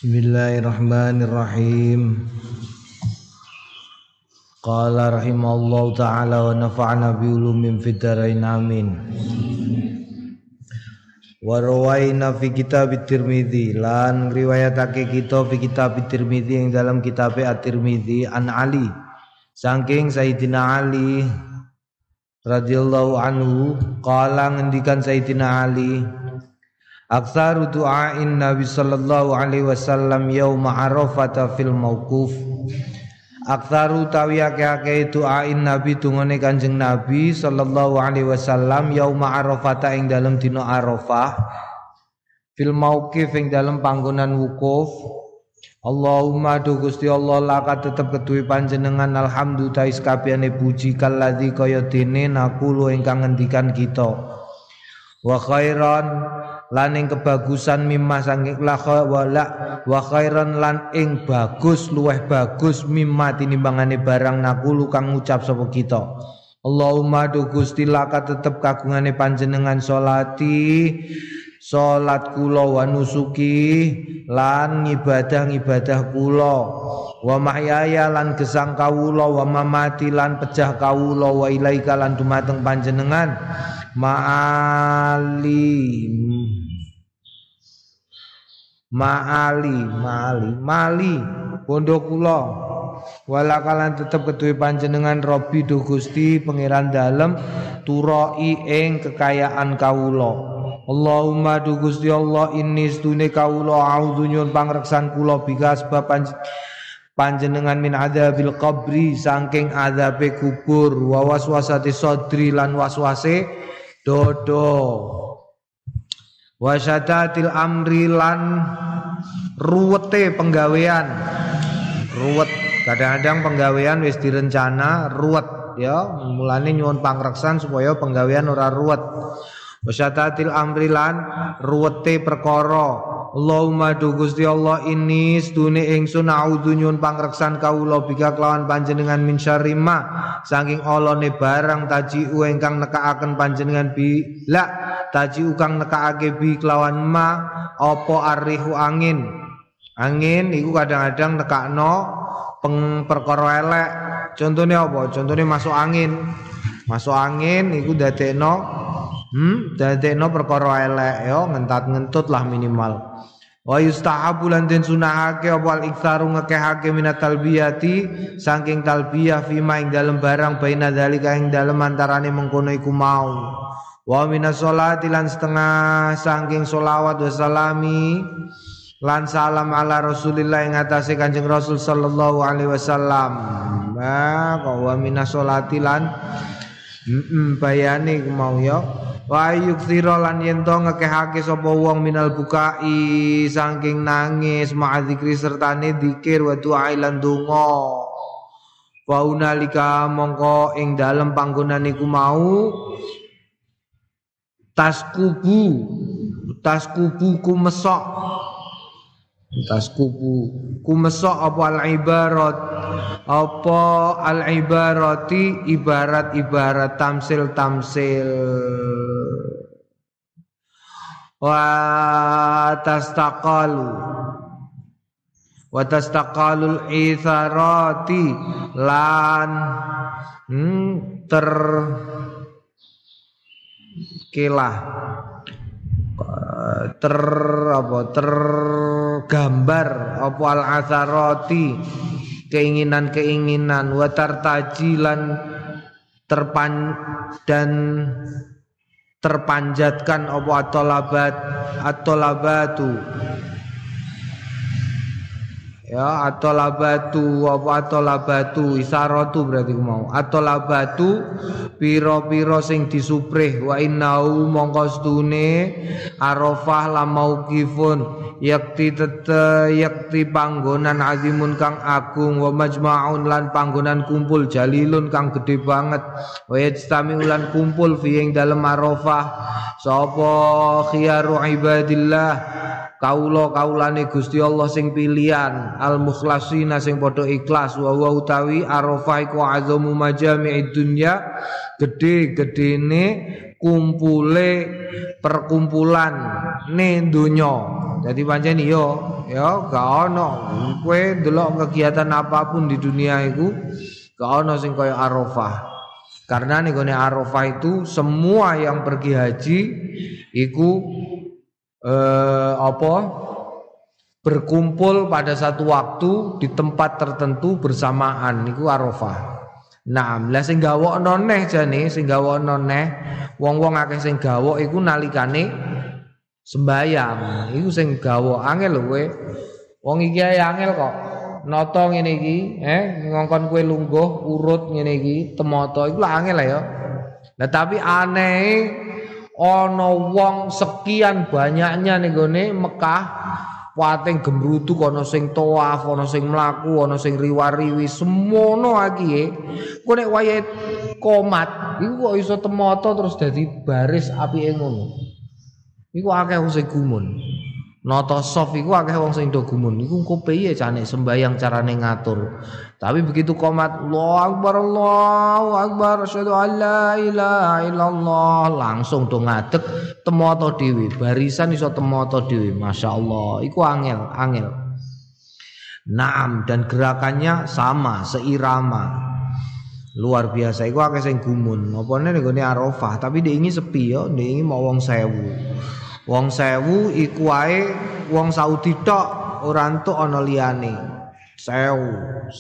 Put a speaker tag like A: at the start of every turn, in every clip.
A: Bismillahirrahmanirrahim. Qala rahimallahu ta'ala wa nafa'ana bi ulumin fid dharain amin. Wa rawaina fi kitab at-Tirmidzi lan riwayatake kita fi kitab at-Tirmidzi ing dalam kitab at-Tirmidzi an Ali saking Sayyidina Ali radhiyallahu anhu qala ngendikan Sayyidina Ali aktsaru du'ain Nabi sallallahu alaihi wasallam yauma Arafah fil mauquf. Aktsaru tawi akeh-akeh du'ain Nabi tungone Kanjeng Nabi sallallahu alaihi wasallam yauma Arafah ing dalem dina Arafah fil mauqif ing dalem panggonan wukuf. Allahumma du Gusti Allah laka tetep keduwe panjenengan alhamdulillah kabehane puji kalladzi kaya dene nakulu ingkang ngendikan kita. Wa khairan lan ing kebagusan mimma sanging wa khairan lan ing bagus luweh bagus mimma tinimbangane barang nakulu kang ngucap sapa kita. Allahumma du Gusti laka tetep kagungane panjenengan salat kula wa nusuki lan ngibadah kula wa mahyaya lan gesang kawula wa mamati lan pejah kawula wa ilaika lan dumateng panjenengan mali bondo kula wala kalan tetep keduwe panjenengan Robbi do Gusti pangeran dalem turoi ing kekayaan kawula. Allahumma du Gusti Allah inni stune kawula a'udzu nyuwun pangreksan kula bika sebab panjenengan min adzabil qabri saking adzabe kubur wa waswasati sadri lan waswase dodo wasyatatil amri lan ruwete penggawean ruwet kadang-kadang penggawean wis direncana ruwet ya mulane nyuwun pangreksan supaya penggawean ora ruwet wasyatatil amri lan ruwete perkara. Allahumma du Gusti Allah ini sedune ingsun a'udzu nyuwun pangreksan kawula bika kelawan panjenengan min syarri ma saking olone barang tajiu ingkang nekaaken panjenengan bi la tajiu kang nekaake bi kelawan ma apa arrihu angin iku kadang-kadang nekakno perkara elek. Contone apa? Contone masuk angin iku dadekno perkara elek ya ngentat-ngentut lah minimal. Wa yustahabu lan den sunahake apa al-iktsaru ngekehake minat talbiyati saking talbiyah fima ing dalem barang baina dzalika ing dalem antarane mengkono iku mau. Wa minas sholati lan setengah saking sholawat wa salami lan salam ala Rasulillah ing atase Kanjeng Rasul sallallahu alaihi wasallam. Wa minas sholati lan bayane mau ya. Wa yukthira lan yen to ngekehake sapa wong minal bukai saking nangis ma'adzikri sertane dzikir wa du'a lan donga. Wa unalika mongko ing dalem panggonan iku mau taskubu kumesok apa al-ibarati ibarat tamsil wa tastaqalul itharati lan tergambar apa al-atharati keinginan wa tartajilan terpanjatkan apa at-talabatu ya at-talabatu isaratu berarti mau at-talabatu pira-pira sing disuprih wa innahu mongko stune Arafah la mauqifun yakti panggonan azimun kang agung wa majma'un lan panggonan kumpul jalilun kang gede banget wa yajtami ulan kumpul fi ing dalem Arafah sapa khiyaru ibadillah kaulane Gusti Allah sing pilihan al mukhlasina sing padha ikhlas wa utawi Arafah iku azamu majami'id dunya gede-gedene kumpule perkumpulan ning donya. Dadi pancen ya gak ono kowe ndelok kegiatan apapun di dunia iku gak ono sing kaya Arafah. Karena ning gone Arafah itu semua yang pergi haji iku berkumpul pada satu waktu di tempat tertentu bersamaan niku Arafah. Nah, lah sing gawokno neh jane, sing gawokno neh wong-wong akeh sing gawok iku nalikane sembayang. Iku sing gawok angel lho kowe. Wong iki ae angel kok. Nata ngene iki, ngongkon kowe lungguh urut ngene iki, temata iku lah angel ya. Nah, tapi aneh ana wong sekian banyaknya ning gone Mekah pating gemrutu ana sing tawaf, ana sing mlaku, ana sing riwariwi, semono iki. Kok nek wayahe komat, iku kok iso temata terus dadi baris apike ngono. Iku akeh wong sing gumun. Nata sof iku akeh wong sing do gumun. Iku engko piye cane sembayang carane ngatur. Tapi begitu komat Allahu Akbar, asyhadu an la ilaha illallah, langsung do ngadeg temata dhewe, barisan iso temata dhewe. Masyaallah, iku angel. Naam, dan gerakannya sama, seirama. Luar biasa, iku akeh sing gumun. Opone ning gone Arafah, tapi dhek iki sepi ya, dhek iki mau wong 1000. Wong 1000 iku wae wong Saudi tok, ora entuk ana liyane. 1000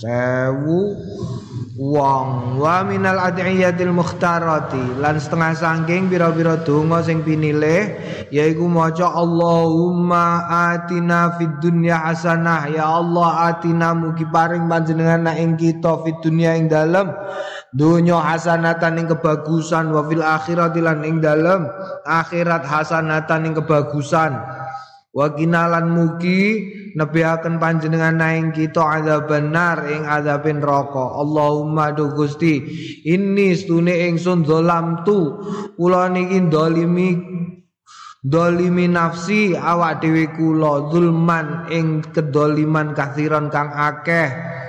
A: wong wa minal adiyatil mukhtarati, lan setengah saking pira-pira donga sing pinilih yaiku maca Allahumma atina fid dunya hasanah, ya Allah atina mugi paring panjenengan ing kita fid dunya ing dalem dunya hasanatan ing kebagusan, wa fil akhirati lan ing dalem akhirat hasanatan ing kebagusan, wa kinalan mugi nebihaken panjenengan ing kita azaban nar ing azabin neraka. Allahumma do Gusti inni stune ingsun zalamtu kula niki dolimi nafsi awak dhewe kula zulman ing kedoliman kathiran kang akeh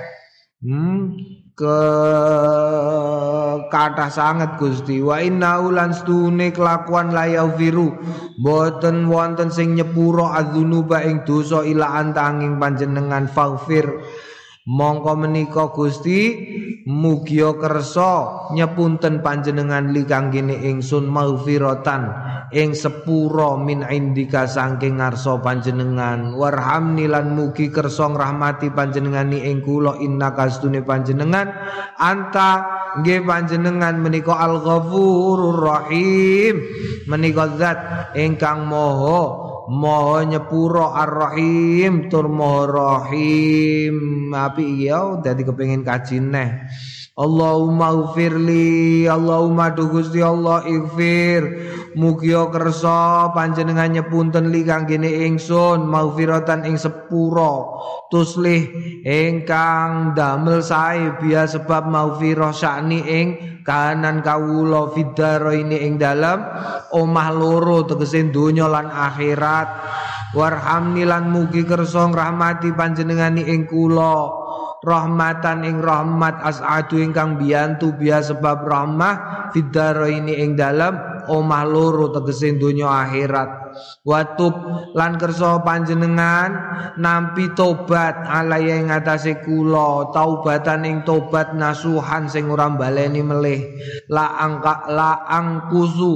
A: kathah sanget Gusti. Wa inna ulan stune kelakuan layau viru boten wonten sing nyepuro adzunuba ing dosa ila antanging panjenengan faghfir mongko menika Gusti mugia kersa nyepunten panjenengan li kanggene ingsun maghfiratan ing sepura min indika saking ngarsa panjenengan, warhamni lan mugi kersa ngrahmati panjenengan ing kula innaka astune panjenengan anta nggih panjenengan menika al-ghafurur rahim, menika zat ingkang Maha nyepuro ar-rahim tur Maha rahim. Api iya dadi kepengin kaji neh. Allahumma ighfirli, Allahumma du Gusti Allah ighfir mugi kersa panjenengan nyepunten li kanggene ingsun maghfiratan ing sepura tuslih ingkang damel sae biya sebab maghfirah sakni ing kahanan kawula fidaro ini ing dalam omah loro tegese donya lan akhirat, warhamni lan mugi kersa ngrahmati panjenengan ing kula rahmatan ing rahmat as'adu ingkang biyantu biya sebab rahmah fidaro ini ing dalam omah loro tegese donya akhirat, watub lan kersa panjenengan nampi tobat alaya ing atase kula taubatan ing tobat nasuhan sing ora baleni melih la angkusu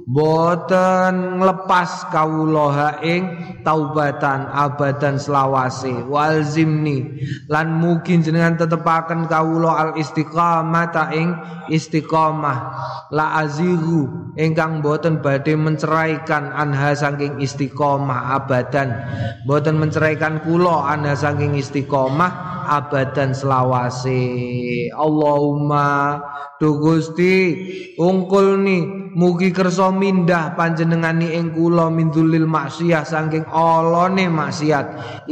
A: boten nglepas kawula ing taubatan abadan selawase, walzimni lan mungkin jenengan tetepaken kawula al istiqamata ing istiqamah la azihu ingkang boten badhe menceraikan anha saking istiqomah abadan, boten menceraikan kula anha saking istiqomah abadan selawase. Allahumma du Gusti ungkulni mugi kersa mindah panjenengani ing kula mindulil maksiyah saking olone maksiat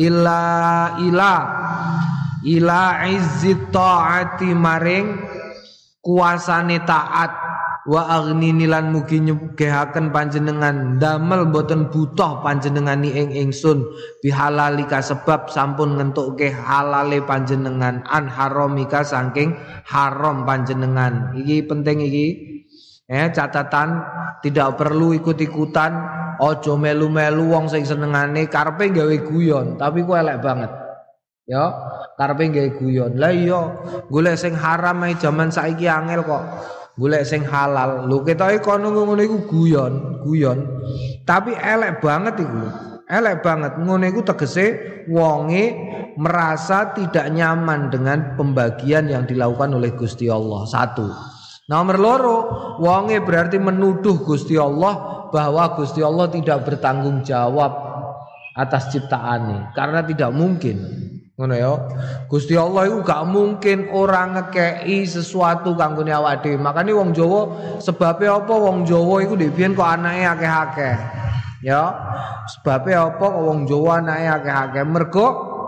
A: ila izzit taati maring kuasane taat, wa aghnini lan mugi nyugehaken panjenengan damel boten butuh panjenengani ing ingsun bihalalika sebab sampun ngentukke halale panjenengan an haramika saking haram panjenengan. Iki penting iki Catatan tidak perlu ikut-ikutan, ojo melu-melu wong sing senengane karepe gawe guyon, tapi ku elek banget. Ya, karepe gawe guyon. Lah iya, golek sing haram ae jaman saiki angel kok. Golek sing halal. Lho ketoke kono ngono iku guyon. Tapi elek banget iku. Elek banget. Ngono iku tegese wonge merasa tidak nyaman dengan pembagian yang dilakukan oleh Gusti Allah. Satu. Nomor loro, wonge berarti menuduh Gusti Allah bahwa Gusti Allah tidak bertanggung jawab atas ciptaane karena tidak mungkin. Ngono ya. Gusti Allah itu gak mungkin orang ngekei sesuatu kanggone awake dhewe. Makane wong Jawa sebabnya apa wong Jawa iku ndek biyen kok anake akeh-akeh. Ya. Sebabnya apa kok wong Jawa anake akeh-akeh? Mergo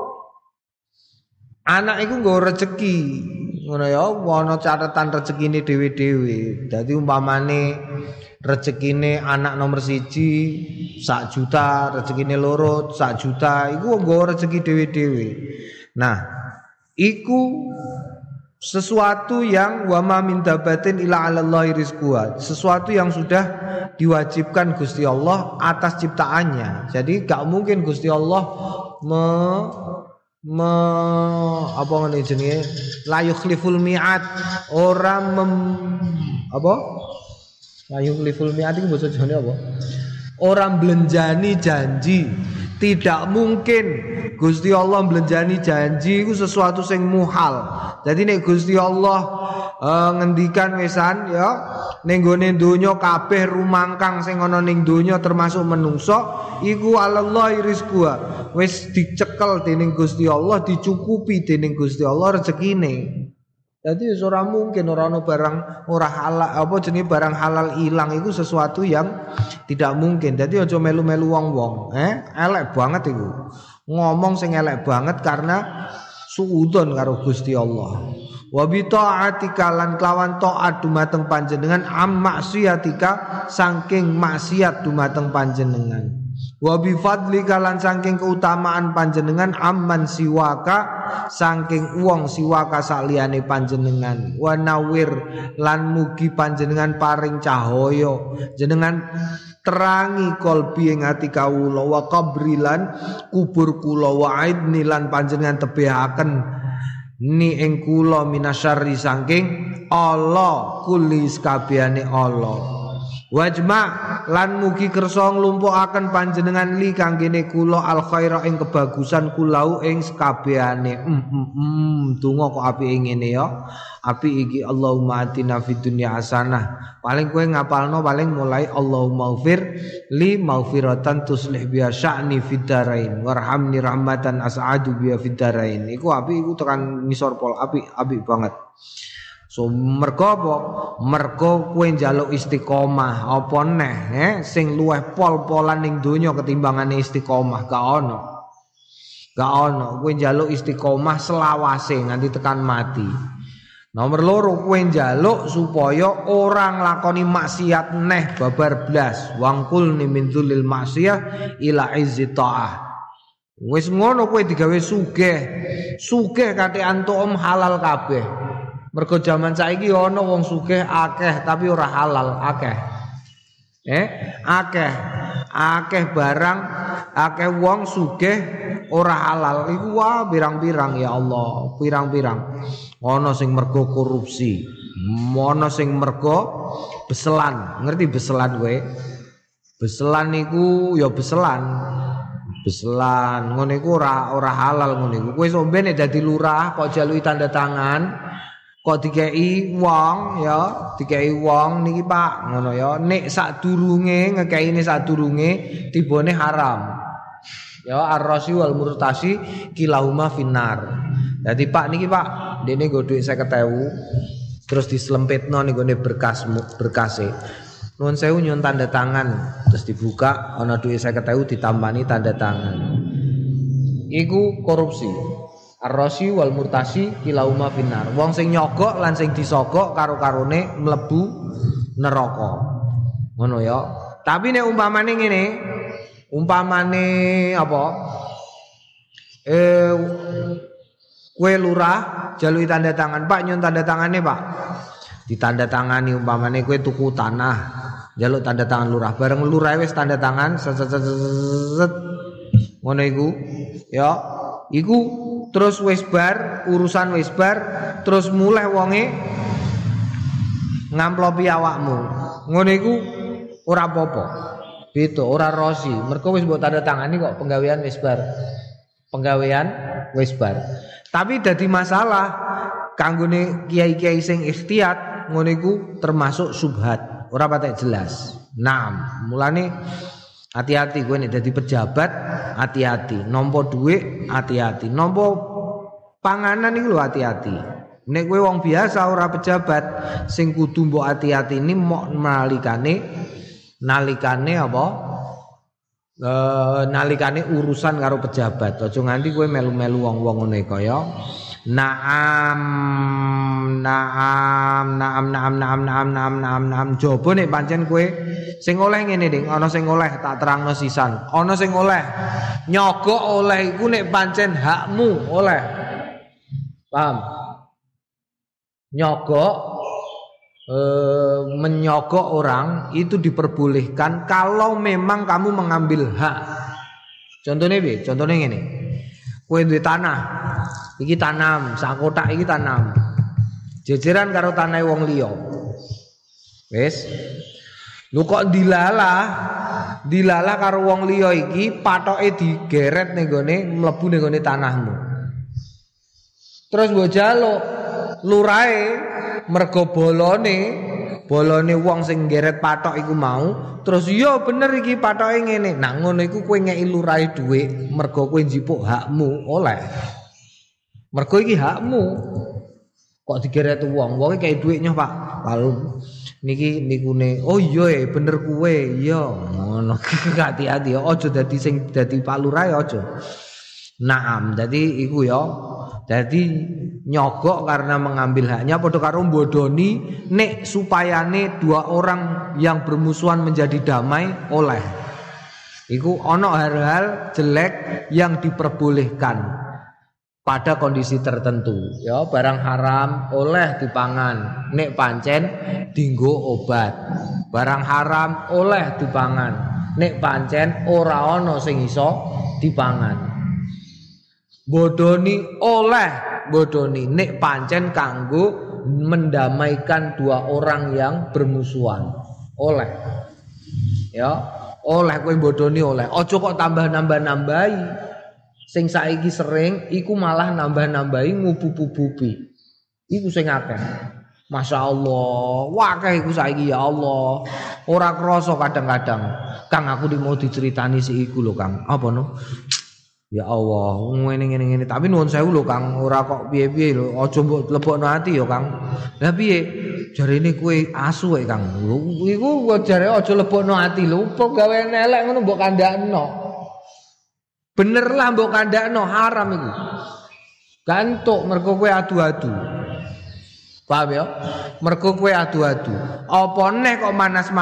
A: anak iku nggo rezeki. Ngono ya, ana catatan rezekine dhewe-dhewe. Dadi umpamane rezekine anak nomor 1 1 juta, rezekine loro 1 juta, iku nggo rezeki dhewe-dhewe. Nah, iku sesuatu yang wa ma min dabatin illa 'alallahi rizquha, sesuatu yang sudah diwajibkan Gusti Allah atas ciptaannya. Jadi gak mungkin Gusti Allah apa ngene jenenge la yukhliful mi'ad, orang apa la yukhliful mi'ad iki basa Jawane apa? Orang belenjani janji. Tidak mungkin Gusti Allah belenjani janji itu sesuatu sing muhal. Jadi nek Gusti Allah ngendikan wesan ya ning gone donya kabeh rumangkang sing ana ning donya termasuk menungso iku alallahi rizquha, wis dicekel dening Gusti Allah, dicukupi dening Gusti Allah rezekine. Jadi ora mungkin ora ana barang ora halal apa jenenge barang halal ilang itu sesuatu yang tidak mungkin. Jadi aja melu-melu wong-wong, elek banget iku. Ngomong sing elek banget karena suudon karo Gusti Allah. Wa bi taatika lan kelawan taat dumateng panjenengan am maksiatika saking maksiat dumateng panjenengan. Wa bi fadlika lan saking keutamaan panjenengan amman siwaka saking wong siwaka saliyane panjenengan. Wa nawir lan mugi panjenengan paring cahaya jenengan terangi kolbi ing ati kawula wa qabrilan kubur kula wa aidni lan panjenengan tebehaken ni ing kula minasyarri saking Allah kulli sakabehane Allah. Wajma lan mugi kersa nglumpukaken panjenengan li kanggene kula al khaira ing kebagusan kulau ing sakabehane. Donga kok apike ngene ya. Apik iki Allahumma atina fid dunya hasanah. Paling kowe ngapalno paling mulai Allahumma ufir li maufiratan tuslih biha sya'ni fid darain warhamni rahmatan as'adu biha fid darain. Iku apik iku tekan ngisor pol apik banget. So mergo apa? Mergo kowe njaluk istiqomah apa neh sing luweh pol-polan ning donya ketimbangane istiqomah gak ono. Kowe njaluk istiqomah selawase nganti tekan mati. Nomor loro kowe njaluk supaya orang lakoni maksiat neh babar blas. Wangkul ni min dzulil maksiyah ila izzi taah. Wis ngono kowe digawe sugih. Sugih kate antuk halal kabeh. Mergo jaman saiki ana wong sugih akeh tapi ora halal akeh. Akeh barang, akeh wong sugih ora halal. Iku wah pirang-pirang ya Allah, pirang-pirang. Ana sing mergo korupsi, ana sing mergo beselan. Ngerti beselan kowe? Beselan niku ya beselan. Beselan ngono iku ora halal ngono iku. Kowe sombe nek dadi lurah kok jaluki tanda tangan kok dikei wong ya, dikei wong niki Pak, ngono ya. Nek sadurunge ngekeine sadurunge tibone haram. Ya ar-rasi wal murtasi kilahuma finnar. Dadi Pak niki Pak, dene nggo dhuwit 50.000 terus dislempitno ning gone berkase. Nuwun sewu nyun tanda tangan, terus dibuka ana dhuwit 50.000 ditambani tanda tangan. Iku korupsi. Ar-rasi wal murtasi kilauma finnar. Wong sing nyogok lan sing disogok karo-karone mlebu neraka. Ngono ya. Tapi nek umpamane ngene, umpamane apa? Kowe lurah jaluki tanda tangan, Pak nyun tanda tangane, Pak. Ditandatangani umpamane kowe tuku tanah, njaluk tanda tangan lurah. Bareng lurah wis tanda tangan set ngono iku ya. Iku terus wis bar, urusan wis bar, terus mulai wonge ngamplopi awakmu. Ngono iku ora apa-apa. Beda ora rosi. Mergo wis mbok tanda tangani kok penggawean wis bar. Penggawean wis bar. Tapi dadi masalah kanggone kiai-kiai sing ikhtiyat ngono iku termasuk subhat. Ora patek jelas. Nah, mulane hati-hati kowe nek dadi pejabat, hati-hati. Nampa dhuwit, hati-hati. Nampa panganan iku lho hati-hati. Nek kowe wong biasa ora pejabat, sing kudu mbok hati-hati ini mok nalikane apa? Nalikane urusan karo pejabat. Aja nganti kowe melu-melu wong-wong ngene kaya naam jobo nek pancen kowe sing oleh ngene Ding, ana sing oleh tak terangno sisan. Ana sing oleh nyogok oleh iku nek pancen hakmu oleh. Paham? Nyogok menyogok orang itu diperbolehkan kalau memang kamu mengambil hak. Contohnya piye? Contohnya ngene. Kowe duwe tanah. Iki tanam, sak kotak iki tanam. Jejeran karo tanahe wong liya. Wis. Lu kok dilalah karo wong liya iki patoke digeret ning gone mlebu ning gone tanahmu. Terus mbok jaluk lurahe mergo bolone wong sing geret patok iku mau, terus iya bener iki patoke ngene. Nah ngono iku kowe ngeki lurahe dhuwit mergo kowe njipuk hakmu oleh. Mergo iki hakmu. Kok digeret wong kei dhuwit nyoh Pak. Lalu nikune oh iya bener kowe iya ngono. Hati-hati aja dadi sing dadi Pak Lurahe aja. Naam, jadi iku ya. Jadi nyogok karena mengambil haknya padha karo bodoni nek supayane dua orang yang bermusuhan menjadi damai oleh. Iku ono hal-hal jelek yang diperbolehkan pada kondisi tertentu. Ya, barang haram oleh dipangan nek pancen dinggo obat. Barang haram oleh dipangan nek pancen ora ono sing iso dipangan. Bodoni nek pancen kanggo mendamaikan dua orang yang bermusuhan oleh ya oleh kowe bodoni oleh aja kok tambah-nambah-nambahi sing saiki sering iku malah nambah-nambahi ngubu-bubi iku sing akeh Masya Allah wakeh iku saiki ya Allah ora krasa kadang-kadang Kang aku mau diceritani si iku lho Kang apa no ya Allah, ngene tapi nuwun sewu lho Kang, ora kok piye-piye lho, aja mbok lebokno ati ya Kang. Lah piye? Jarene kowe asu wae Kang. Iku jare aja lebokno ati lho, pegawean elek ngono mbok kandhakno. Bener lah mbok kandhakno, haram iku. Gantuk mergo kowe adu-adu. Paham ya? Mergo kowe adu-adu. Apa neh kok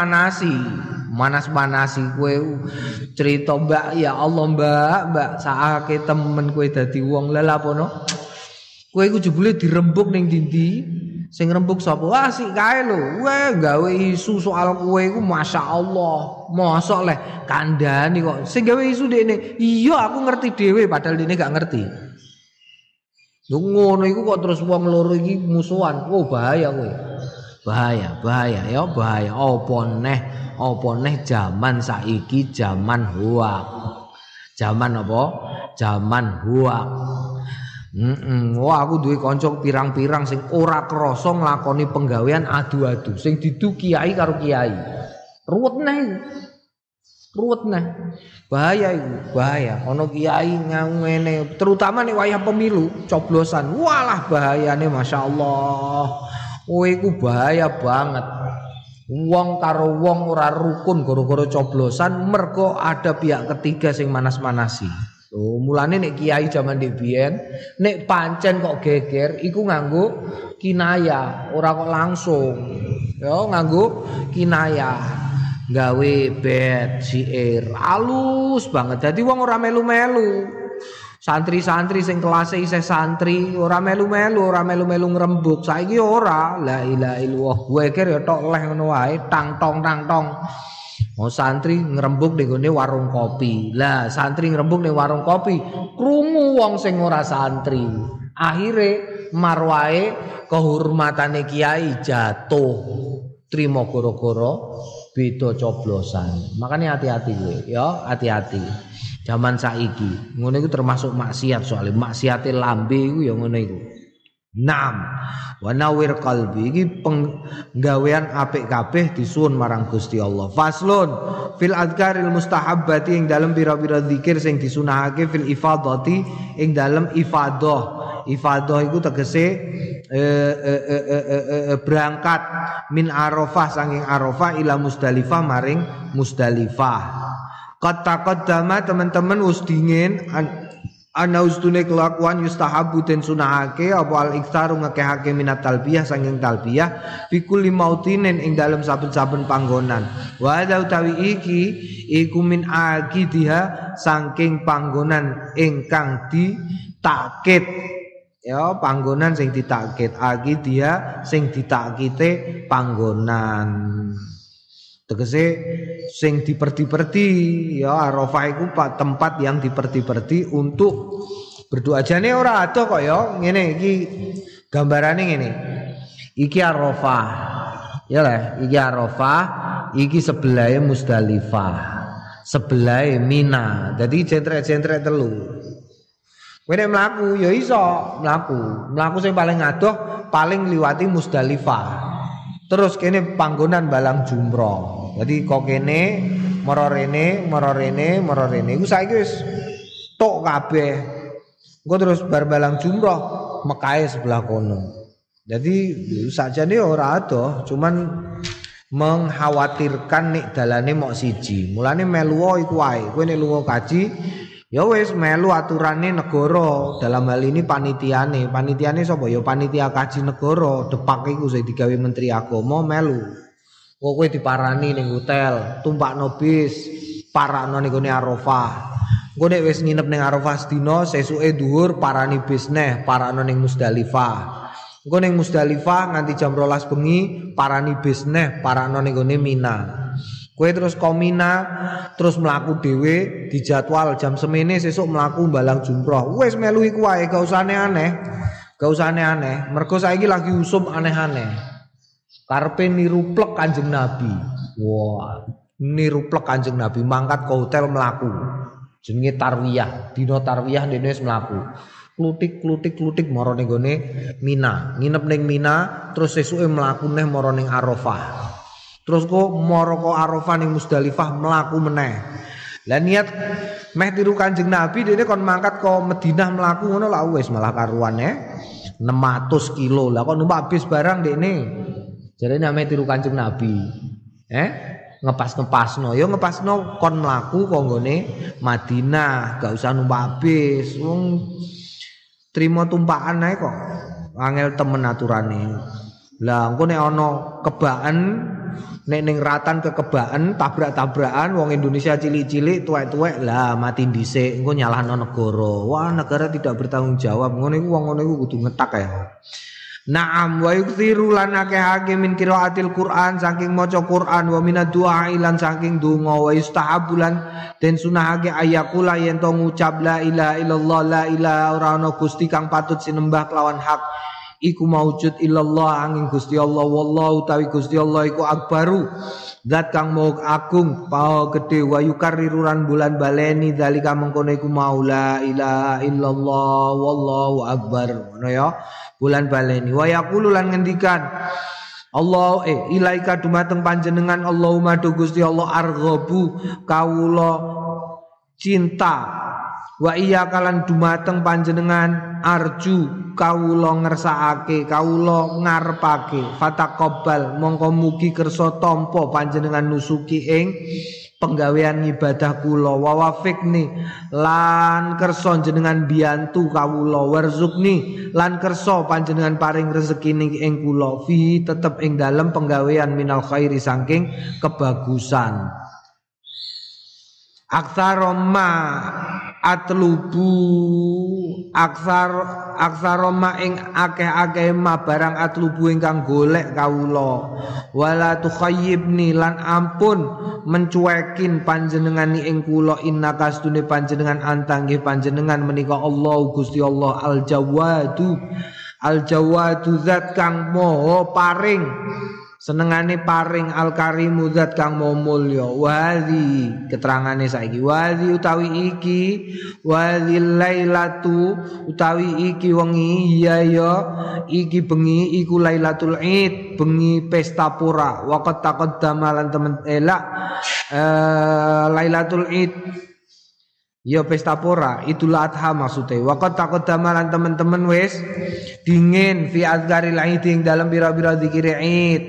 A: manas-manasi kowe cerita Mbak ya Allah Mbak saake temen kowe dadi wong lha lapono kowe iku jebule dirembuk ning ndi sing rembuk sapa wah sik kae lho weh gawe isu soal kowe iku masyaallah mosok leh kandhani kok sing gawe isu dekne iya aku ngerti dhewe padahal dene gak ngerti lho ngono iku kok terus wong loro iki musuhan oh bahaya kowe bahaya ya bahaya apa neh zaman saiki zaman hoak. Zaman apa? Zaman hoak. Wah aku duwe kanca pirang-pirang sing ora krasa nglakoni penggawean adu-adu sing didu kiai karo kiai. Ruwet neh. Bahaya iku, bahaya. Ana kiai ngene terutama nek wayah pemilu, coblosan. Walah bahayane masyaallah. Oh iku bahaya banget. Wong karo wong ora rukun gara-gara coblosan mergo ada pihak ketiga sing manas-manasi. Oh, mulane nek kiai jaman ndek biyen nek pancen kok geger iku nganggo kinayah, ora kok langsung. Ya nganggo kinayah. Gawe bet siir halus banget. Dadi wong ora melu-melu. Santri-santri sing kelase isih santri ora melu-melu ngrembug. Saiki ora. La ilaha illallah. Gue kira ya tok leh ngono wae, tang tong. Oh santri ngrembug ning gone warung kopi. Lah santri ngrembug ning warung kopi, krungu wong sing ora santri. Akhire marwae kehormatane kiai jatuh. Trimo gara-gara beda coblosan. Makanya hati-hati gue, ya hati-hati. Zaman saiki ngono iku termasuk maksiat soalnya maksiate lambe iku ya ngono iku. Naam wa nawir qalbi iki penggawean apik kabeh disuwun marang Gusti Allah. Faslun fil adkaril mustahabbati ing dalem pira-pira zikir sing disunahake fil ifadati ing dalem ifadah. Ifadah iku tegese berangkat min Arafah saking Arafah ila Musdalifah maring Musdalifah. Qad-taqaddama teman-teman wis dingin ana ustune kelakuan yustahabu den sunahake apa al-iktsaru ngakehake minat talbiyah saking talbiyah fi kulli mautinin ing dalem saben-saben panggonan. Wa hadza utawi iki iku min aqidiha saking panggonan ingkang ditakkid. Ya panggonan sing ditakkid aqidiha sing ditakkite panggonan. Tegese sing diperti-perti ya Arafah iku tempat yang diperti-perti untuk berdoa. Jane ora ada kok ya ngene iki gambarane ngene. Iki Arafah. Ya lah, iki Arafah, iki sebelahe Musdalifah. Sebelahe Mina. Dadi centrek-centrek telu. Kowe nek mlaku ya iso mlaku. Mlaku sing paling adoh paling liwati Musdalifah. Terus kene panggonan balang jumroh. Jadi kok kene mara rene iku saiki wis tok kabeh. Engko terus bar balang jumroh Mekahe sebelah kono. Jadi sakjane ora ada, cuman mengkhawatirkan nek dalane mok siji. Mulane melu iku wae. Kowe nek lunga kaji ya wis melu aturane negara. Dalam hal ini panitiane sapa ya panitia kaji negara. Depak iku sing digawe Menteri Agama melu. Kowe diparani ning hotel, tumpakno bis, parakno ning gone Arafah. Engko nek wis nginep ning Arafah sedina, sesuke dhuwur parani bis neh, parakno ning Musdalifah. Engko ning Musdalifah nganti jam 12 bengi, parani bis neh, parakno ning gone Mina. Kowe terus ke Mina, terus mlaku dhewe, dijadwal jam semene sesuk mlaku balang jumroh. Wis melu iku wae, gak usah aneh-aneh. Mergo saiki lagi usum aneh-aneh. Karepe niru plek Kanjeng Nabi. Wah, niru plek Kanjeng Nabi mangkat ke hotel mlaku. Jenenge tarwiyah, dina tarwiyah dene wis mlaku. Klutik mara ning gone Mina. Nginep ning Mina terus sesuke mlaku neh mara ning Arafah. Terus kok mara kok Arafah ning Musdalifah mlaku meneh. Lah niat meh tiru Kanjeng Nabi dene kon mangkat ke Madinah mlaku ngono lah wis malah karuane 600 kilo. Lah kok numpak bis barang dekne. Jadi namanya tiru Kanjeng Nabi. Ngepas-ngepasno. Ya ngepasno kon mlaku kok nggone Madinah, gak usah numpak bis. Wong trimo tumpakan ae kok. Angel temen aturane. Lah engko nek ana kebaan nek ning ratan kekebaan tabrak-tabrakan wong Indonesia cilik-cilik tuwek-tuwek lah mati dhisik engko nyalahno negara. Wah, negara tidak bertanggung jawab. Ngono iku wong ngono iku kudu ngetak ya. Naam wa yukthiru lan akeh min qiraatil Qur'an saking maca Qur'an wa minad du'a lan saking donga wa yustahabulan den sunahake ayakula yen to ngucap la ilaha illallah la ilaha ora ana gusti kang patut sinembah kelawan hak iku maujud illallah angin Gusti Allah wallahu tawi Gusti Allah iku akbaru zat kang maha agung paha gedhe wa yukarriruran bulan baleni zalika mengkono iku maula ilaha illallah wallahu akbar ngono ya bulan baleni wa yaqulu lan ngendikan Allah ilaika dumateng panjenengan Allahumma do Gusti Allah arghabu kawula cinta wa iya kalan dumateng panjenengan arju kawula ngersakake kawula ngarepake fataqabbal mongko mugi kersa tampa panjenengan nusuki ing penggawean ibadah kula wa wafiqni lan kersa jenengan biyantu kawula warzuqni lan kersa panjenengan paring rezeki ing kula fi tetep ing dalem penggawean minal khairi saking kebagusan. Aksaroma atlubu aksaroma ing akeh-akeh ma barang atlubu ingkang golek kawula wala tukhayyibni lan ampun mencuekin panjenengani ing kula innaka astune panjenengan antangge panjenengan menika Allah Gusti Allah al-jawadu zat kang maha paring senengane paring al-karimu zat kang maha mulya wazi keterangane saiki wazi utawi iki wazil lailatu utawi iki wengi ya iki bengi iku lailatul id bengi pesta pora waqt taqaddama lan temen elak lailatul id ya pesta pora Idul Adha maksude waqt taqaddama lan temen-temen wis dingin fi azkaril id ing dalam pira-pira zikir id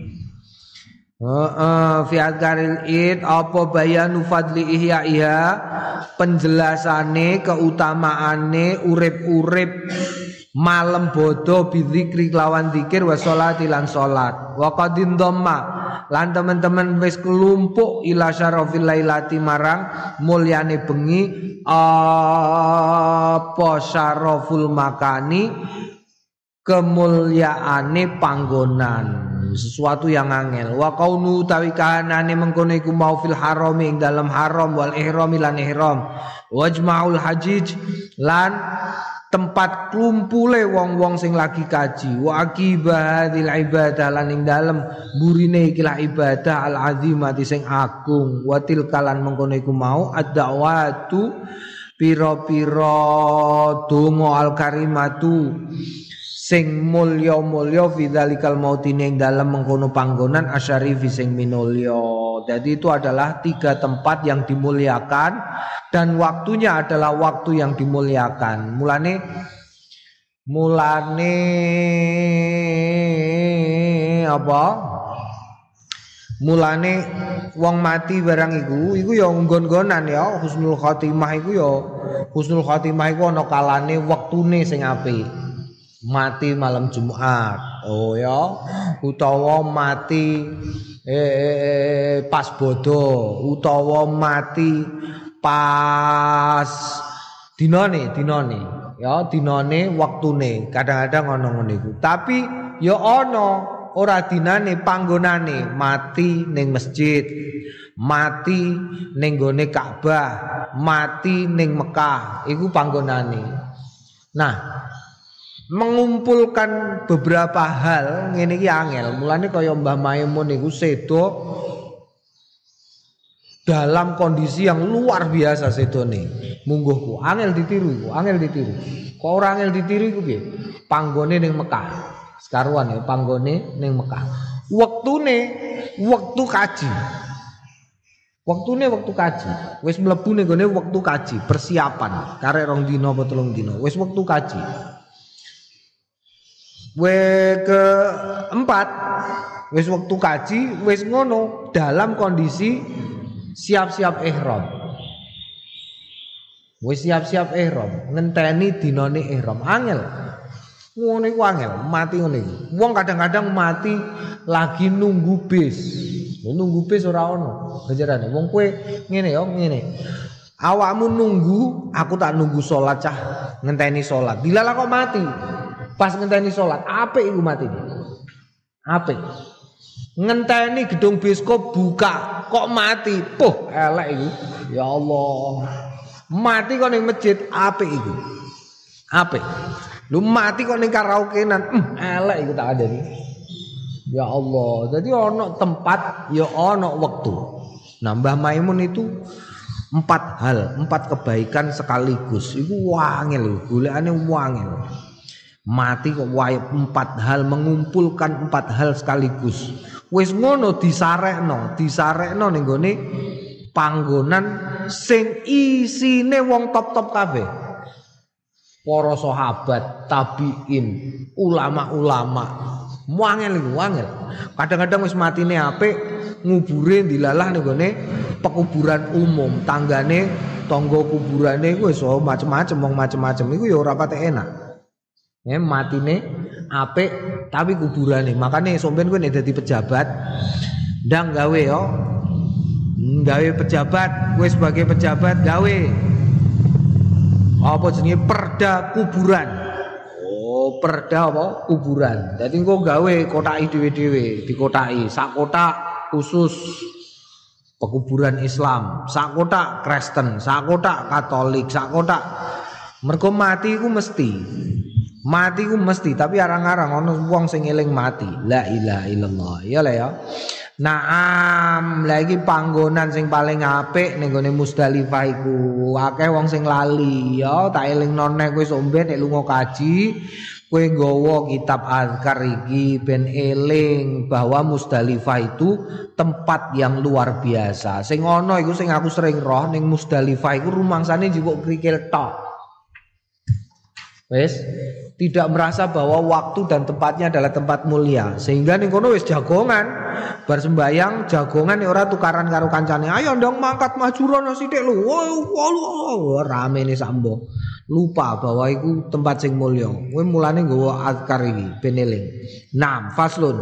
A: fi azkaril id apa bayanu fadli ihya penjelasane keutamaane urip-urip malam bodo bizikri lawan zikir wa sholati lan salat wa qadin dhamma lan teman-teman wis kelumpuk ila syarafil lailati marang mulyane bengi apa syaraful makani kemulyaane panggonan sesuatu yang angel wa kaunu tawi kahanane mengkono iku mau fil haram ing dalam haram wal ihram lan ihram wajmaul hajij lan tempat klumpule wong-wong sing lagi kaji wa akibahil ibadah lan ing dalem burine ikilah ibadah al azimati sing agung wa tilkalan mengkono iku mau ad-da'watu pira-pira donga al karimatu sing mulya-mulya fi dzalikal mautine ing dalem mengkono panggonan asyarifi sing minulya. Jadi itu adalah 3 tempat yang dimuliakan dan waktunya adalah waktu yang dimuliakan. Mulane apa? Mulane wong mati barang iku ya nggon-nggonan ya husnul khotimah iku ya husnul khotimah iku ana kalane wektune sing apik. Mati malam Jumat oh ya utawa mati pas bodo utawa mati pas dinane ya dinane waktune kadang-kadang ana ngene iku tapi ya ana ora dinane panggonane mati ning masjid mati ning gone Ka'bah mati ning Mekah iku panggonane nah mengumpulkan beberapa hal ngene iki angel. Mulane kaya Mbah Maimun niku sedo dalam kondisi yang luar biasa sedone. Mungguhku angel ditiru iku, angel ditiru. Kok ora angel ditiru iku piye? Panggone ning Mekah. Sekaruan ya panggone ning Mekah. Wektune wektu kaji. Wektune wektu kaji. Wis mlebu ning gone wektu kaji, persiapan. Karek 2 dina apa 3 dina. Wis wektu kaji. Keempat wis waktu kaji wis ngono dalam kondisi siap-siap ihram wis siap-siap ihram ngenteni dinane ihram angel ngono iku angel mati ngono iku wong kadang-kadang mati lagi nunggu bis ora ono ganjarane wong kowe ngene ya ngene awakmu nunggu aku tak nunggu salat cah ngenteni salat dilala kok mati pas ngenteni salat apik iku matine apik ngenteni gedung bioskop buka kok mati puh elek iku ya Allah mati kok ning masjid apik iku apik lu mati kok ning karaokean elek iku tak adani ya Allah jadi ono tempat ya ono waktu nah Mbah Maimun itu 4 hal 4 kebaikan sekaligus iku wangel golekane wangel mati kok wae 4 hal mengumpulkan 4 hal sekaligus wis ngono disarekno ning gone panggonan sing isine wong top-top kabeh para sahabat tabiin ulama-ulama wangel iku wangel kadang-kadang wis matine apik ngubure dilalah ning gone pekuburan umum tanggane tangga kuburane iku wis macem-macem wong macem-macem iku ya ora pate enak matine apik tapi kuburane makane sampean kowe nek dadi pejabat ndang gawe yo gawe pejabat, kowe sebagai pejabat gawe apa jenenge perda kuburan. Oh, perda apa? Kuburan. Dadi engko gawe kotaki dhewe-dhewe, dikotaki sak kotak khusus pekuburan Islam, sak kotak Kristen, sak kotak Katolik, sak kotak. Mergo mati iku mesti. Mati ku mesti, tapi arang-arang ana wong sing eling mati. La ilaha illallah. Ya lah ya. Naam, lagi panggonan sing paling apik ning gone Musdalifah iku. Akeh wong sing lali ya, tak elingno nek kowe sok ben nek lunga kaji, kowe nggawa kitab azkar iki ben eling bahwa Musdalifah itu tempat yang luar biasa. Sing ana iku sing aku sering roh ning Musdalifah iku rumangsane njupuk krikil tok. Wes, tidak merasa bahwa waktu dan tempatnya adalah tempat mulia. Sehingga ning kono wis jagongan. Bar sembayang jagongan ora tukaran karo kancane. Ayo ndong mangkat maju rono sithik lho. Wow, rame ne sambo. Lupa bahwa itu tempat sing mulia. Kowe mulane nggawa azkar iki ben eling. Naam, faslun.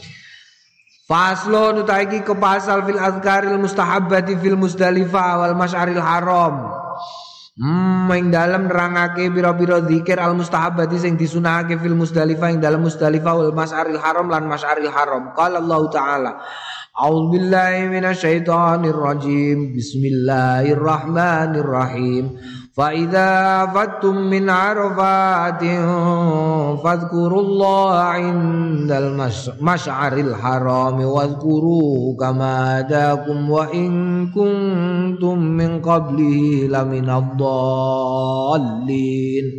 A: Faslun utaiki ke pasal fil azkaril mustahabbati fil Musdalifah wal Masy'aril Haram. Ing dalem nerangake pira-pira zikir al mustahabati sing disunahake fil Musdalifah ing dalem Musdalifah wal Masy'aril Haram lan Masy'aril Haram. Qala Allah Ta'ala A'udzubillahi minasyaitonir rajim. Bismillahirrahmanirrahim. Fa idza afattum min arafatin fadhkurullaha 'indal masy'aril haram wadhkuru kama hadakum wa in kuntum min qablihi laminadh dhallin.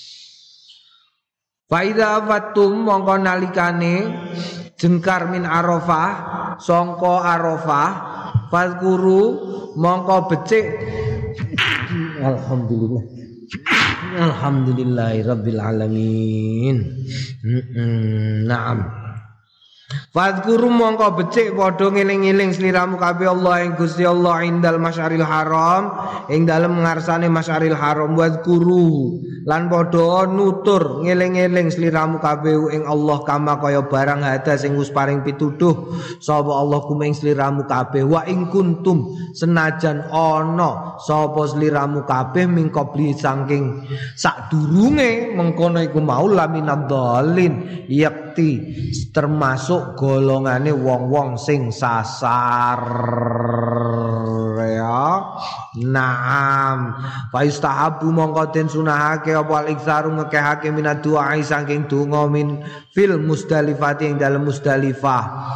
A: Fa idza afattum mongko nalikane jengkar min arafah sangka arafah fadhkuru mongko becik. Alhamdulillah. Alhamdulillahirabbil alamin. Naam. Fadhkuru mongko becik padha ngeling-eling sliramu kabeh Allah ing Gusti Allah indal Masy'aril Haram ing dalem ngarsane Masy'aril Haram wadhkuru lan padha nutur ngeling-eling sliramu kabeh ing Allah kama kaya barang hada sing wis paring pituduh sapa Allah kumeng sliramu kabeh wa ing kuntum senajan ana sapa sliramu kabeh mingkobli saking sadurunge mengkono iku mau laminadhalin yakti termasuk golongane wong-wong sing sasar ya. Naam. Fa istahabu mongko den sunahake apa al-iktsaru ngekehake minad du'a saking donga min fil Musdalifah ing dalem Musdalifah.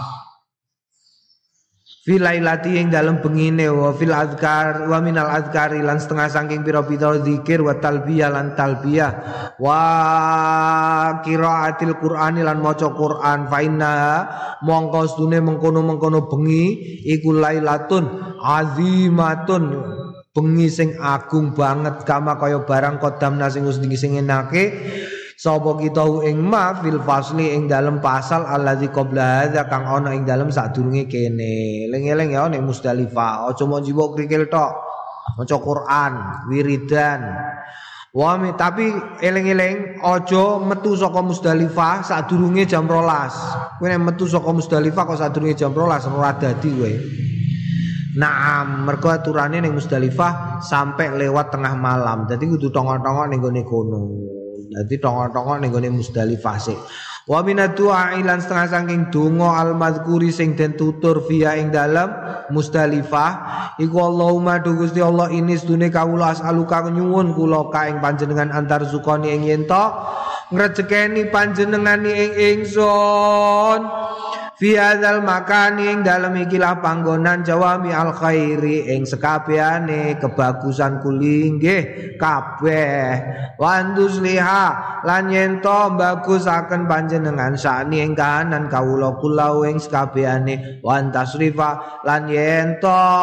A: Fil lailati ing dalem bengine wa fil azkar wa minal azkari lan setengah saking pira-pira zikir wa talbiyah lan talbiyah wa qiraatil qur'ani lan maca Qur'an fa inna mongko sedune mengkono-mengkono bengi iku lailatun azimatun bengi sing agung banget kama kaya barang kodamna sing wis sing enake sapa kita ing ma fil fasli ing dalem pasal allazi qabla hadza kang ana ing dalem sadurunge kene. Eling-eling ya ning Musdalifah aja mau njupuk krikil tok. Maca Quran, wiridan. Tapi eling-eling aja metu saka Musdalifah sadurunge jam 12. Kowe nek metu saka Musdalifah kok sadurunge jam 12 ora dadi kowe. Naam, mergo aturane ning Musdalifah sampai lewat tengah malam. Dadi kudu tongok-tongok ning gone kono. Dadi tongok-tongok ning gone Musdalifah sik. Wa minaddu'a lan setengah saking donga al-madzkuri sing den tutur via ing dalam Musdalifah iku Allahumma du Gusti Allah ini sedune kawula as'aluka nyuwun kula ka ing panjenengan antar sukani ing yen to ngrejekeni panjenengani ing ingsun fi hadzal makani ing dalem ikilah panggonan jawami al khairi ing sekabehane kebagusan kuli nggih kabeh wandus liha lan yen to bagusaken panjenengan sani ing kahanan kawula kula ing sekabehane wan tasrifa lan yen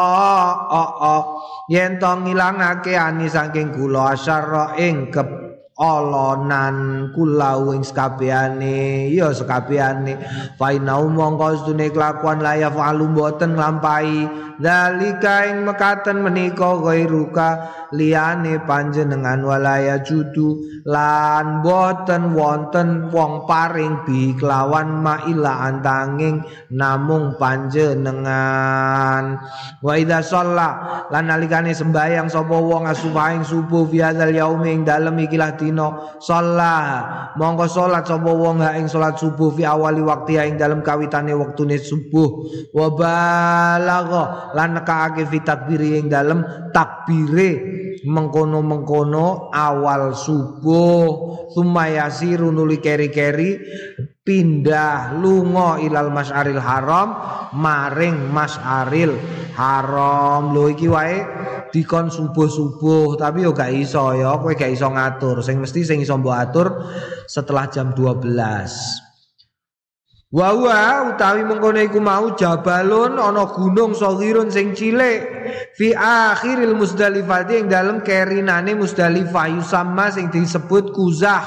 A: to ngilangake ani saking kula asyara ing olonan kulau ing sekabehane ya sekabehane fa inau mongko sedune kelakuan la yafalu mboten nglampahi zalika ing mekaten menika ghairuka liyane panjenengan walaya judu lan boten wonten wong paring bi kelawan maila antanging namung panjenengan wa idza shalla lan nalikane sembahyang sapa wong asubaing subuh fi hadzal yaumi ing dalem ikilah dina shalla mongko salat sapa wong ha ing salat subuh fi awali waktu ing dalem kawitane wektune subuh wa balagha lan nekaake fi takbiri ing dalem takbire mengkono-mengkono awal subuh sumayasiru nuli keri-keri pindah lunga ilal masyaril haram maring masyaril haram lho iki wae dikon subuh-subuh tapi yo gak iso ya kowe gak iso ngatur sing mesti sing iso mbok atur setelah jam 12. Wa utawi mengkono iku mau jabalun ana gunung saghirun sing cilik fi akhiril Muzdalifah ing dalem kerinane Muzdalifah yusamma sing disebut Kuzah.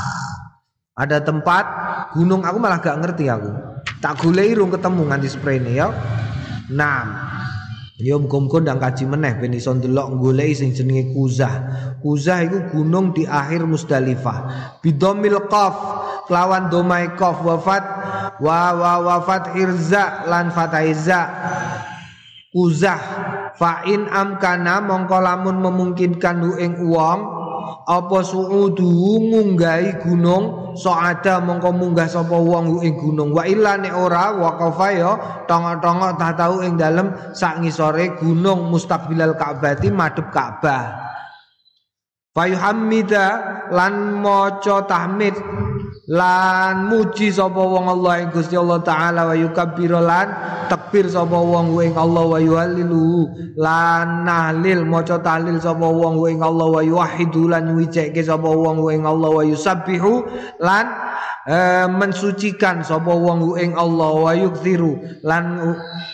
A: Ada tempat gunung aku malah gak ngerti aku. Tak goleki rung ketemu nganti sprene ya. Nah, ya muga-muga ndang kaji meneh ben iso ndelok goleki sing jenenge Kuzah. Kuzah iku gunung di akhir Muzdalifah. Bidomil qaf lawan domai qaf wafat wafat irza lan fataiza Kuzah fa in amkana mongko lamun memungkinkan hu ing wong apa suudu ngunggahi gunung soada mongko munggah sapa wong hu ing gunung wa illa nek ora waqafa ya tongok-tongok tak tau ing dalem sak ngisore gunung mustaqbilal Ka'bati madhep Ka'bah fayuhammida lan maca tahmid lan muji sapa wong Allah ing Gusti Allah taala wa yukabbir lan takbir sapa wong ing Allah wa yuhallilu lan nahlil maca tahlil sapa wong ing Allah wa yuwahhidu lan nyucike sapa wong ing Allah wa yusabbihu lan mensucikan sapa wong ing Allah wa yukthiru lan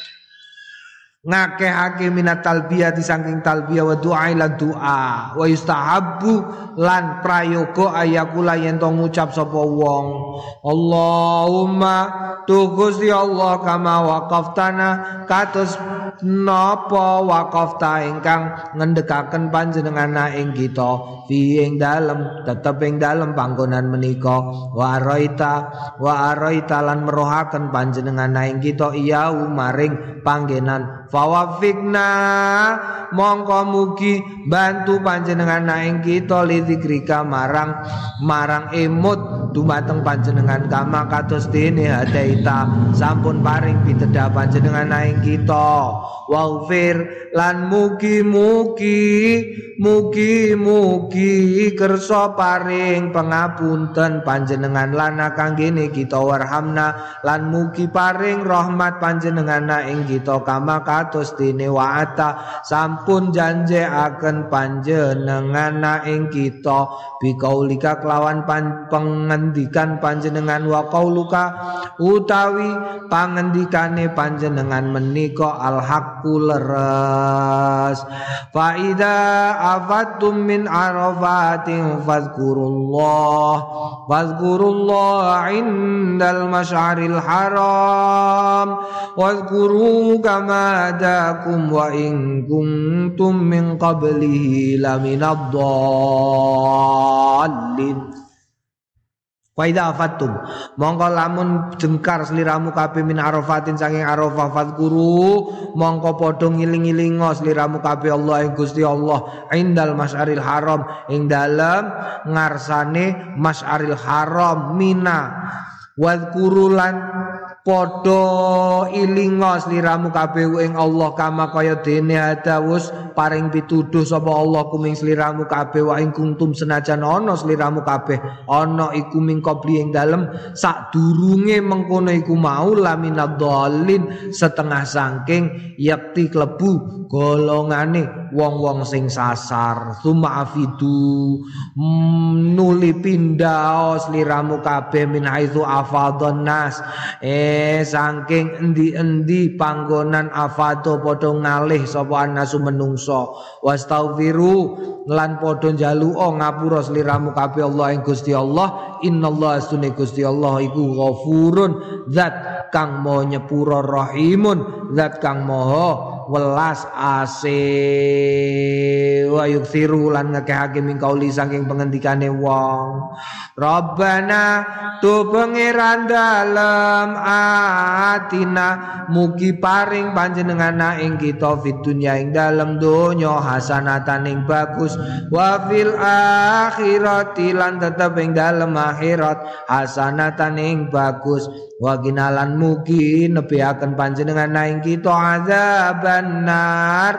A: ngakehake minat talbiyah saking talbiyah wa du'a lan du'a wa yustahabbu lan prayoga ayakula yen to ngucap sapa wong Allahumma tu Gusti Allah kama waqaftana kados napa waqafta ingkang ngendhekaken panjenengan ing kita fi ing dalem tetep ing dalem panggonan menika wa araita lan merohaken panjenengan ing kita iya maring panggenan fawafikna mongko mugi bantu panjenengan ing kita lidzikrika marang emut dumateng panjenengan kama kados dene hadaita sampun paring pitedah panjenengan ing kita waghfir lan mugi kersa paring pangapunten panjenengan lana kanggene kita warhamna lan mugi paring rahmat panjenengan ing kita kama kados dene wa'ata sampun janjeaken panjenengan ing kita bikaulika kelawan pengendikan panjenengan wa qauluka utawi pangendikane panjenengan menika al-haqqul leres fa idza afattum min arafatin fazkurullah indal masyaril haram wazkuru kama hadakum wa in kuntum min qablihi laminad dhallin. Faida afatum mongko lamun jengkar sliramu kabeh min arafatin saking arafah fadhkuru mongko padha ngiling-ilingo sliramu kabeh Allah ing Gusti Allah indal masyaril haram ing dalem ngarsane masyaril haram mina wadhkuru lan padha ilingo sliramu kabeh ing Allah kama kaya dene hadawus paring pituduh sapa Allah kuming sliramu kabeh wa ing kuntum senajan ana sliramu kabeh ana iku ming qabli ing dalem sadurunge mengkono iku mau laminad dhalin setengah saking yakti klebu golongane wong-wong sing sasar summa afidu nuli pindaos liramu kabeh min haitsu afadhon nas saking endi-endi panggonan afado padha ngalih sapa anasu menungso wastaghfiru lan padha njaluka ngapura sliramu kabeh Allah ing Gusti Allah innallaha sunne Gusti Allah iku ghafurun zat kang maha nyepura rahimun zat kang maha welas ase wa yuksiru lan ngekehake mingkauli saking pengendikane wong Rabbana tu pangeran dalem atina mugi paring panjenengan ing kita fid dunya ing dalem donya hasanatan ing bagus wa fil akhirati lan tetep ing dalem akhirat hasanatan ing bagus wa ginalan mugi nebiaken panjenengan ing kita azaban nar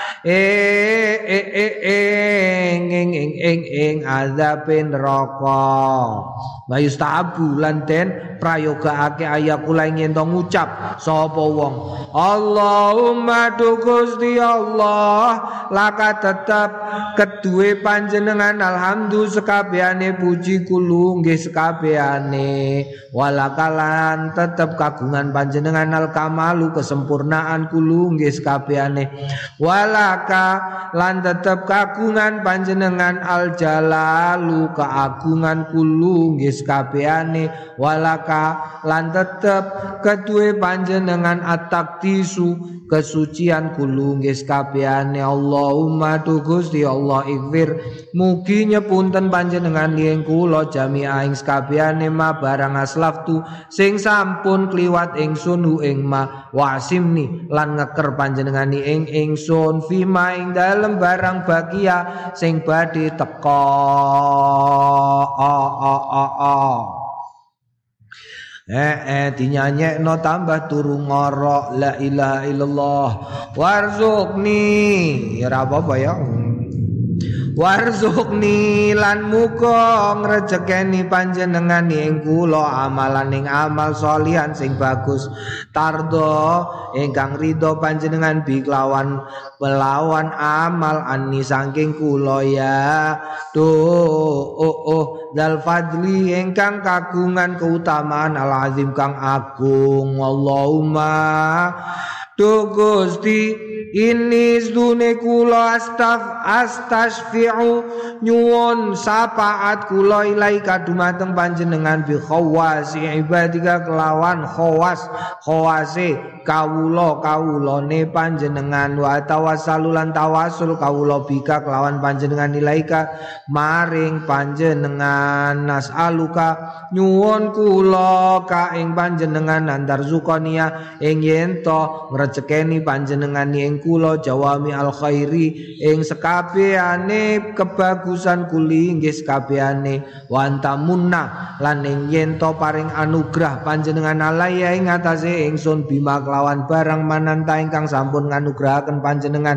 A: ing azabin neraka wa yustahabu lan den prayogaake ayakula ing ento ngucap sapa wong Allahumma tu Gusti Allah laka tetep keduwe panjenengan alhamdulillah sekabehane puji kulo nggih sekabehane walakalan tetep kagungan panjenengan al kamalu kesempurnaan kulo nggih sekabehane walaka lan tetep kagungan panjenengan al jalalu keagungan kulo nggih sekabehane walaka lan tetep keduwe panjenengan at-taqdisu kesucian kulo nggih sekabehane Allahumma tu Gusti Allah ikfir mugi nyepunten panjenengan ing kula jami'a ing sekabehane ma barang aslaftu sing sampun kliwat ingsun ing ma wasimni lan ngeker panjenengan ing ingsun fima ing dalem barang bagia sing badhe teka dinyanyekno tambah turu ngorok la ilaha illallah warzuqni ya apa ya warzuqni lan muga ngrejekeni panjenengan ing kula amalan ing amal sholihan sing bagus tardo ingkang ridho panjenengan bi kelawan pelawan amal anni saking kula ya dal fadli ingkang kagungan keutamaan al azim kang agung Allahumma tu Gusti ini sedune kula astasfi'u nyuwun syafaat kula ilaika dumateng panjenengan bi khawasi ibadika kelawan khawase kawulane panjenengan wa tawassalulan tawasul kawula bika kelawan panjenengan ilaika maring panjenengan nas'aluka nyuwun kula ka ing panjenengan antar zukania ing yen to ngrecekeni panjenengan ing kula jawami al khairi ing sekabehane kebagusan kuli nggih sekabehane wa antamunna lan ing yen to paring anugrah panjenengan alaya ing atase ingsun bima kelawan barang mananta ingkang sampun nganugrahaken panjenengan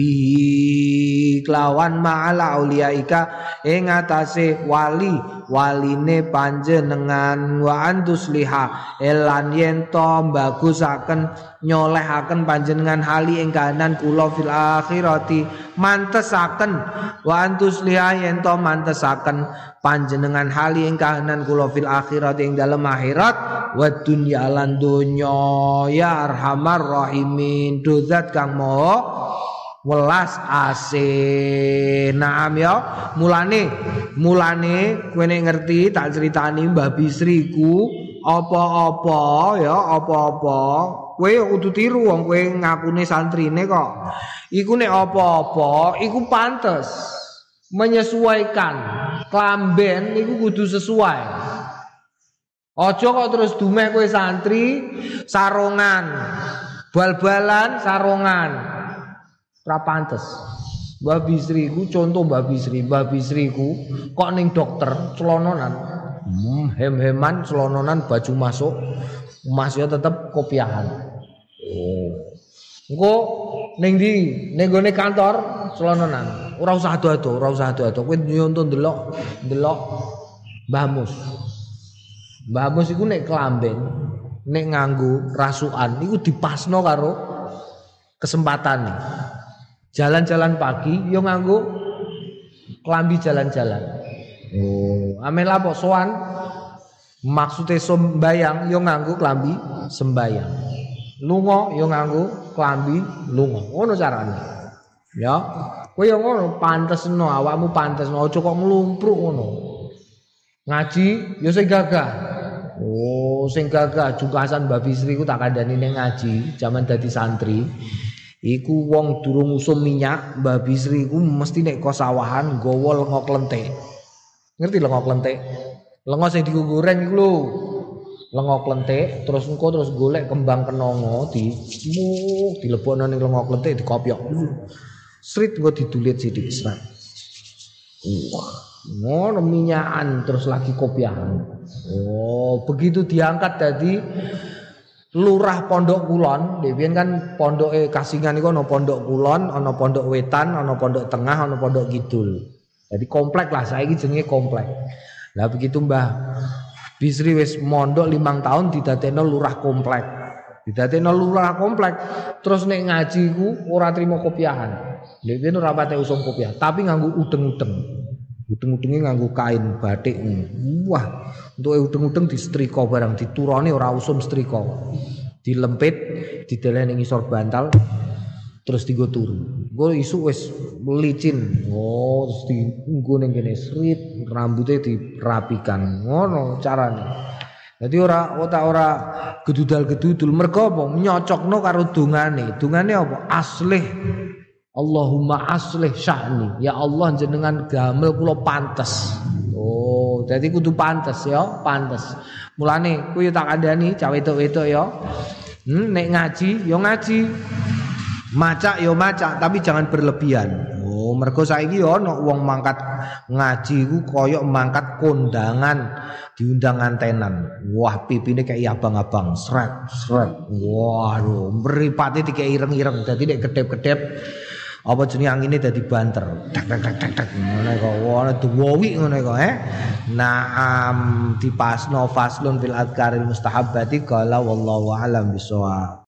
A: bi kelawan ma'ala auliyaika ing atase waline panjenengan wa antusliha elan yen to bagusaken nyolehaken panjenengan hali ing kahanan kula fil akhirati mantesaken wa antusliha yen to mantesaken panjenengan hali ing kahanan kula fil akhirati ing dalem akhirat wa dunya lan donya ya arhamar rahimin dozat kang maha welas ase naam ya mulane kowe nek ngerti tak critani Mbah Bisriku apa-apa kowe kudu tiru wong kowe ngakune santrine kok iku nek apa-apa iku pantes menyesuaikan klamben iku kudu sesuai aja kok terus dumeh kowe santri sarongan bal-balan sarongan ora pantes. Mbah Bisriku contoh Mbah Bisriku kok ning dokter celononan hem-heman celononan baju masuk masih tetep kopiahan. Engko ning ndi ning gone kantor celononan ora usah ado-ado kowe nyonto ndelok Mbah Mus iku nek klamben nek nganggo rasukan iku dipasno karo kesempatane. Jalan-jalan pagi yo nganggo klambi jalan-jalan. Oh, amel apa sowan? Maksude sembayang yo nganggo klambi sembayang. Lunga yo nganggo klambi lunga. Ngono carane. Ya. Kowe yo ngono pantesno awakmu pantesno aja kok nglumpruk ngono. Ngaji yo sing gagah. Oh, sing gagah jungkasan Mbak Bisri ku tak kandhani ning ngaji jaman dadi santri. Iku wong durung usum minyak, Mbak Bisri ku mesti nek kosawahan nggawa lenga klenthek. Ngerti lenga klenthek? Lenga sing digoreng iku lho. Lenga klenthek terus engko terus golek kembang kenanga dilebokno ning lenga klenthek dikopyok. Srit engko didulit sithik serat. Wah, ngono minyakan terus lagi kopiahan. Oh, begitu diangkat dadi Lurah Pondok Kulon, dhewe kan pondoke Kasingan iku ana Pondok Kulon, ana Pondok Wetan, ana Pondok Tengah, ana Pondok Kidul. Jadi komplek lah, saiki jenenge komplek. Lah begitu Mbah Bisri wis mondok 5 tahun didadekno lurah komplek. Didadekno lurah komplek, terus nek ngaji ku ora trimo kopiahan. Dhewe ora pate usum kopiah, tapi nganggo udeng-udeng. Udeng-udenge nganggo kain batik. Wah, untuk udeng-udeng disetrika barang diturone ora usum setrika. Dilempit, dideleh ning ngisor bantal terus dienggo turu. Engko isuk wis licin. Oh, terus dienggo ning kene srit, rambutnya dirapikan. Ngono carane. Dadi ora gedudal-gedudul mergo apa? Nyocokno karo dungane. Dungane apa? Aslih Allahumma aslih sya'ni. Ya Allah jenengan gamel kula pantes. Oh, dadi kudu pantes ya, pantes. Mulane kuwi tak kandhani cah wedok-wedok ya. Nek ngaji ya ngaji. Maca ya maca, tapi jangan berlebihan. Oh, mergo saiki ya ana wong mangkat ngaji ku koyo mangkat kondangan, diundang antenan. Wah, pipine kayak abang-abang, sret. Waduh, mripate dikek ireng-ireng. Dadi nek kedep-kedep apa jenenge angine dadi banter. Tak ngono kok ana duwi ngono kok Naam dipasno faslun fil adkaril mustahabbati qala wallahu alam bisawab.